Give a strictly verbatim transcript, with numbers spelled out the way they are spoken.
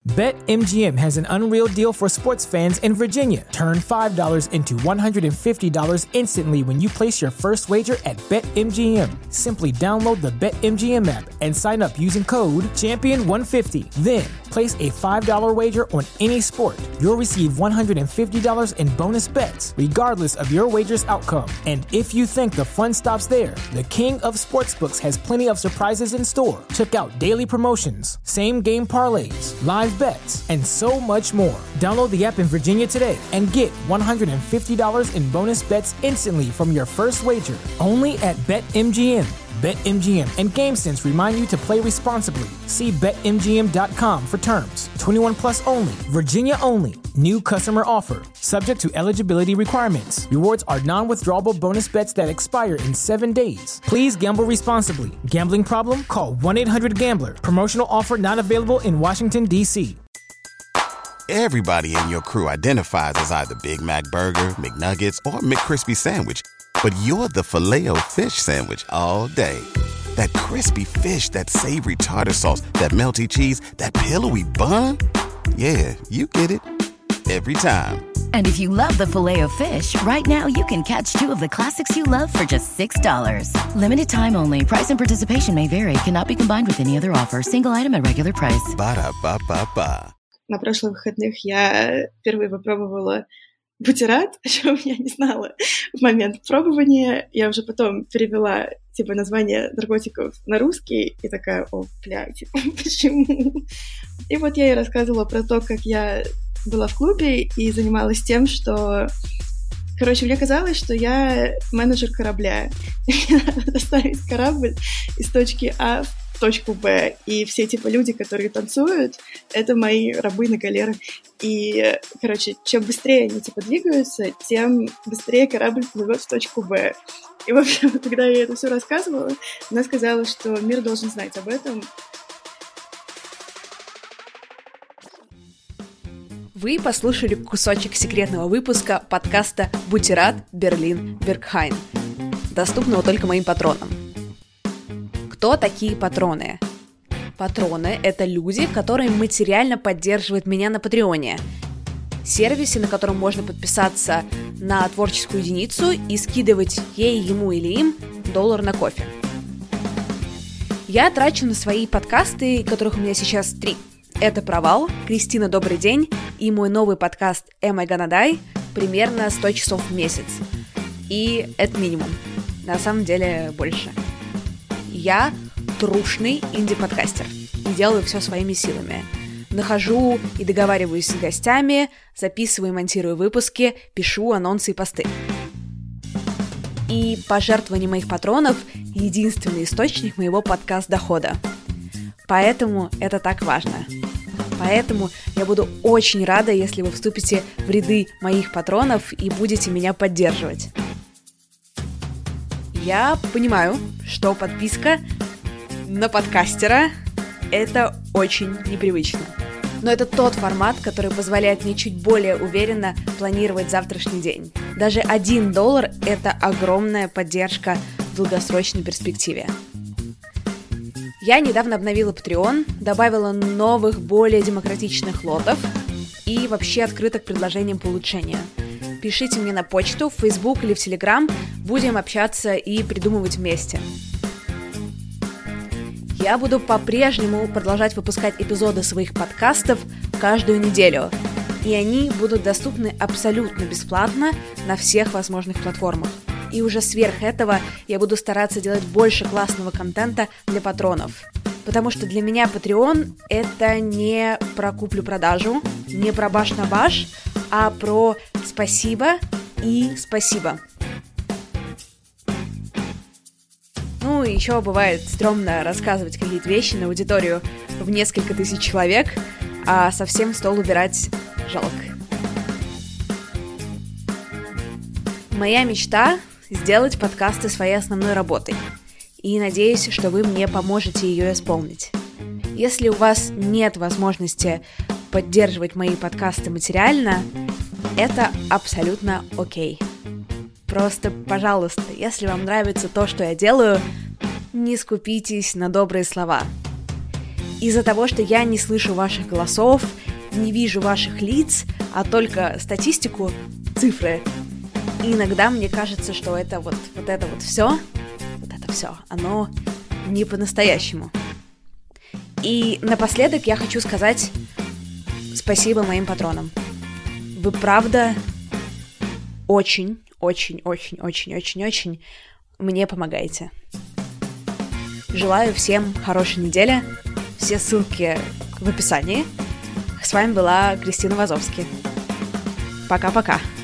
BetMGM has an unreal deal for sports fans in Virginia. Turn five dollars into one hundred fifty dollars instantly when you place your first wager at BetMGM. Simply download the BetMGM app and sign up using code champion one fifty. Then, place a five dollars wager on any sport. You'll receive one hundred fifty dollars in bonus bets, regardless of your wager's outcome. And if you think the fun stops there, the King of Sportsbooks has plenty of surprises in store. Check out daily promotions, same-game parlays, live bets, and so much more. Download the app in Virginia today and get one hundred fifty dollars in bonus bets instantly from your first wager. Only at BetMGM. BetMGM and GameSense remind you to play responsibly. See Bet M G M dot com for terms. twenty-one plus only. Virginia only. New customer offer. Subject to eligibility requirements. Rewards are non-withdrawable bonus bets that expire in seven days. Please gamble responsibly. Gambling problem? Call one eight hundred gambler. Promotional offer not available in Washington, D C Everybody in your crew identifies as either Big Mac Burger, McNuggets, or McCrispy Sandwich. But you're the Filet-O-Fish Sandwich all day. That crispy fish, that savory tartar sauce, that melty cheese, that pillowy bun. Yeah, you get it. Every time. And if you love the Filet-O-Fish, right now you can catch two of the classics you love for just six dollars. Limited time only. Price and participation may vary. Cannot be combined with any other offer. Single item at regular price. Ба-да-ба-ба-ба. На прошлых выходных я впервые попробовала бутерат, о чем я не знала в момент пробования. Я уже потом перевела, типа, название наркотиков на русский и такая, о, бля, типа, почему? И вот я ей рассказывала про то, как я была в клубе и занималась тем, что... Короче, мне казалось, что я менеджер корабля. Мне надо доставить корабль из точки А в точку Б. И все, типа, люди, которые танцуют, это мои рабы на галерах. И, короче, чем быстрее они, типа, двигаются, тем быстрее корабль плывет в точку Б. И, в общем, когда я это все рассказывала, она сказала, что мир должен знать об этом. Вы послушали кусочек секретного выпуска подкаста «Бутерат Берлин Бергхайн», доступного только моим патронам. Кто такие патроны? Патроны — это люди, которые материально поддерживают меня на Патреоне, сервисе, на котором можно подписаться на творческую единицу и скидывать ей, ему или им доллар на кофе. Я трачу на свои подкасты, которых у меня сейчас три. Это «Провал», «Кристина, добрый день» и мой новый подкаст «Am I Gonna Die» примерно сто часов в месяц. И это минимум. На самом деле больше. Я трушный инди-подкастер и делаю все своими силами. Нахожу и договариваюсь с гостями, записываю и монтирую выпуски, пишу анонсы и посты. И пожертвования моих патронов — единственный источник моего подкаст-дохода. Поэтому это так важно. Поэтому я буду очень рада, если вы вступите в ряды моих патронов и будете меня поддерживать. Я понимаю, что подписка на подкастера – это очень непривычно. Но это тот формат, который позволяет мне чуть более уверенно планировать завтрашний день. Даже один доллар – это огромная поддержка в долгосрочной перспективе. Я недавно обновила Patreon, добавила новых, более демократичных лотов и вообще открыта к предложениям по улучшению. Пишите мне на почту, в Facebook или в Telegram, будем общаться и придумывать вместе. Я буду по-прежнему продолжать выпускать эпизоды своих подкастов каждую неделю, и они будут доступны абсолютно бесплатно на всех возможных платформах. И уже сверх этого я буду стараться делать больше классного контента для патронов. Потому что для меня Patreon — это не про куплю-продажу, не про баш на баш, а про спасибо и спасибо. Ну, и еще бывает стрёмно рассказывать какие-то вещи на аудиторию в несколько тысяч человек, а совсем стол убирать жалко. Моя мечта — сделать подкасты своей основной работой. И надеюсь, что вы мне поможете ее исполнить. Если у вас нет возможности поддерживать мои подкасты материально, это абсолютно окей. Просто, пожалуйста, если вам нравится то, что я делаю, не скупитесь на добрые слова. Из-за того, что я не слышу ваших голосов не вижу ваших лиц, а только статистику, цифры. И иногда мне кажется, что это вот, вот это вот все, вот это все, оно не по-настоящему. И напоследок я хочу сказать спасибо моим патронам. Вы правда очень, очень, очень, очень, очень, очень мне помогаете. Желаю всем хорошей недели. Все ссылки в описании. С вами была Кристина Вазовски. Пока-пока.